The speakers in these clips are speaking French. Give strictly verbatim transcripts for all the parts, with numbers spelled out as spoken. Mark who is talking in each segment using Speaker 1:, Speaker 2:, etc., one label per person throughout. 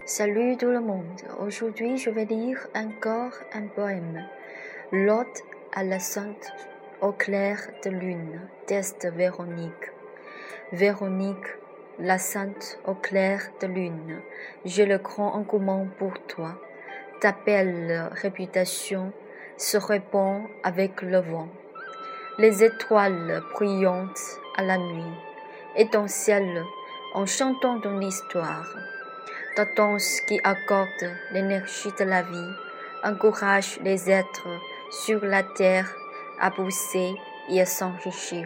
Speaker 1: Salut tout le monde, aujourd'hui je vais lire encore un poème, L'Ode à la Sainte au clair de lune, d'Est Véronique. Véronique, la Sainte au clair de lune, j'ai le grand engouement pour toi. Ta belle réputation se répand avec le vent. Les étoiles brillantes à la nuit étincellent en chantant ton histoire. Ta danse qui accorde l'énergie de la vie encourage les êtres sur la terre à pousser et à s'enrichir.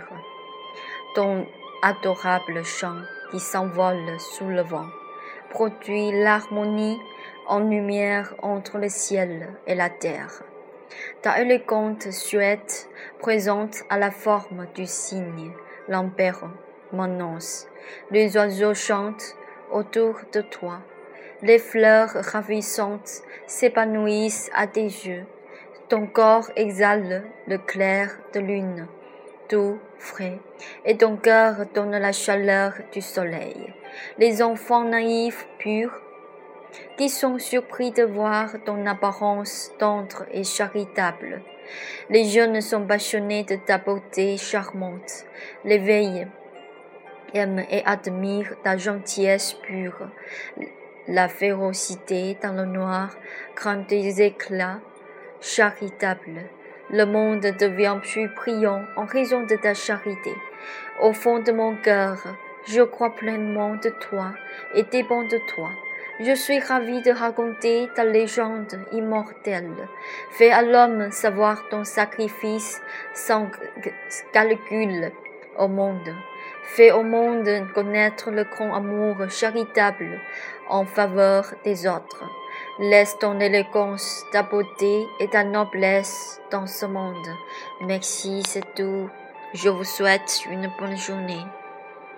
Speaker 1: Ton adorable chant qui s'envole sous le vent produit l'harmonie en lumière entre le ciel et la terre. Ta élégante silhouette présente à la forme du cygne l'empère m'annonce. Les oiseaux chantent autour de toi. Les fleurs ravissantes s'épanouissent à tes yeux. Ton corps exhale le clair de lune, doux, frais, et ton cœur donne la chaleur du soleil. Les enfants naïfs, purs, qui sont surpris de voir ton apparence tendre et charitable. Les jeunes sont passionnés de ta beauté charmante. Les vieilles aiment et admirent ta gentillesse pure. La férocité dans le noir craint des éclats charitables. Le monde devient plus brillant en raison de ta charité. Au fond de mon cœur, je crois pleinement de toi et dépends de toi. Je suis ravie de raconter ta légende immortelle. Fais à l'homme savoir ton sacrifice sans calcul au monde. Fais au monde connaître le grand amour charitable en faveur des autres. Laisse ton élégance, ta beauté et ta noblesse dans ce monde. Merci, c'est tout. Je vous souhaite une bonne journée.